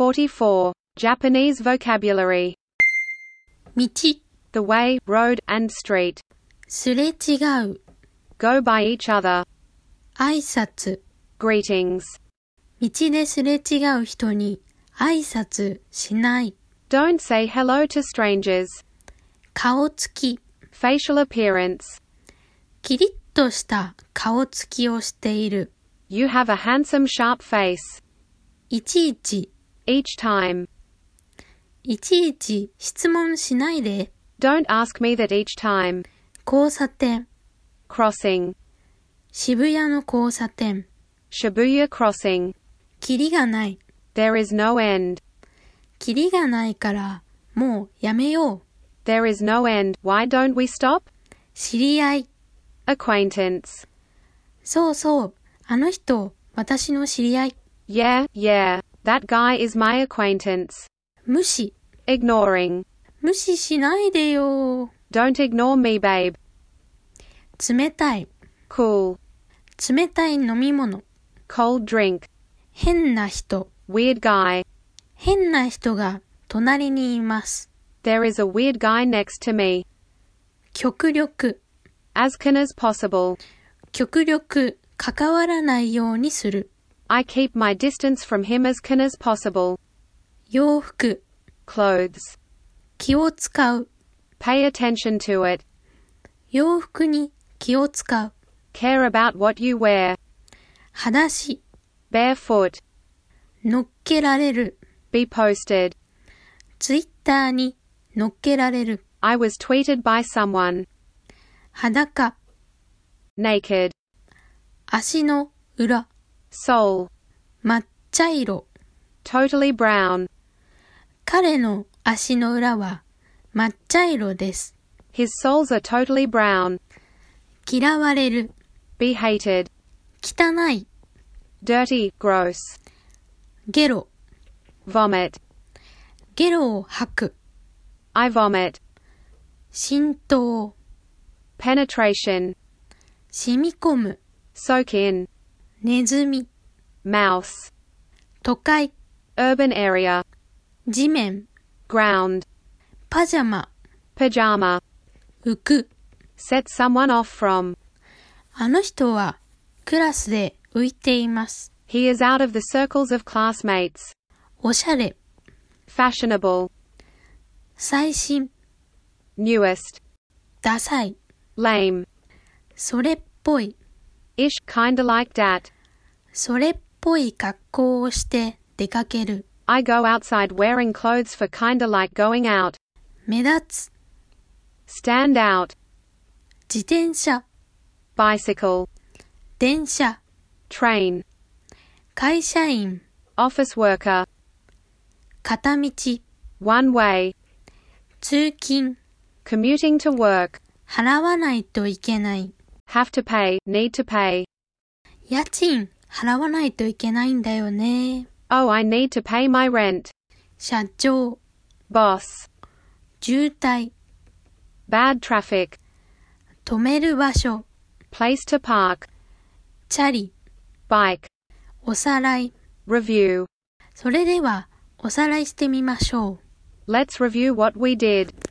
44. Japanese vocabulary. 道、 The way, road, and street. すれ違う、 Go by each other. 挨拶、 Greetings. 道ですれ違う人に挨拶しない。 Don't say hello to strangers. 顔つき、 Facial appearance. キリッとした顔つきをしている。 You have a handsome sharp face. いちいち、 Each time. いちいち質問しないで。 Don't ask me that each time. 交差点、 Crossing. 渋谷の交差点。 Shibuya crossing. キリがない。 There is no end. キリがないからもうやめよう。 There is no end. Why don't we stop? 知り合い。 Acquaintance. そうそう、あの人、私の知り合い。 Yeah, yeah. That guy is my acquaintance. 無視。 Ignoring. 無視しないでよ。 Don't ignore me, babe. 冷たい。 Cool. 冷たい飲み物。 Cold drink. 変な人。 Weird guy. 変な人が隣にいます。 There is a weird guy next to me. 極力。 As can as possible. 極力関わらないようにする。 I keep my distance from him as can as possible. 洋服。 Clothes. 気を使う。 Pay attention to it. 洋服に気を使う。 Care about what you wear. 裸足。 Barefoot. 乗っけられる。 Be posted. ツイッターに乗っけられる。 I was tweeted by someone. 裸。 Naked. 足の裏。 Sole. 抹茶色。 Totally brown. 彼の足の裏は抹茶色です。 His soles are totally brown. 嫌われる。 Be hated. 汚い。 Dirty, gross. ゲロ。 Vomit. ゲロを吐く。 I vomit. 浸透。 Penetration. 染み込む。 Soak in. ネズミ。 Mouse. 都会。 Urban area. 地面。 Ground. パジャマ。 Pajama. 浮く。 Set someone off from. あの人はクラスで浮いています。 He is out of the circles of classmates. おしゃれ。 Fashionable. 最新。 Newest. ダサい。 Lame. それっぽい。 Ish, kinda like that. それっぽい格好をして出かける。 I go outside wearing clothes for kinda like going out. 目立つ。 Stand out. 自転車。 Bicycle. 電車。 Train. 会社員。 Office worker. 片道。 One way. 通勤。 Commuting to work. 払わないといけない。 Have to pay, need to pay. 家賃払わないといけないんだよね。 Oh, I need to pay my rent. 社長。 Boss. 渋滞。 Bad traffic. 止める場所。 Place to park. チャリ。 Bike. おさらい。 Review. それではおさらいしてみましょう。 Let's review what we did.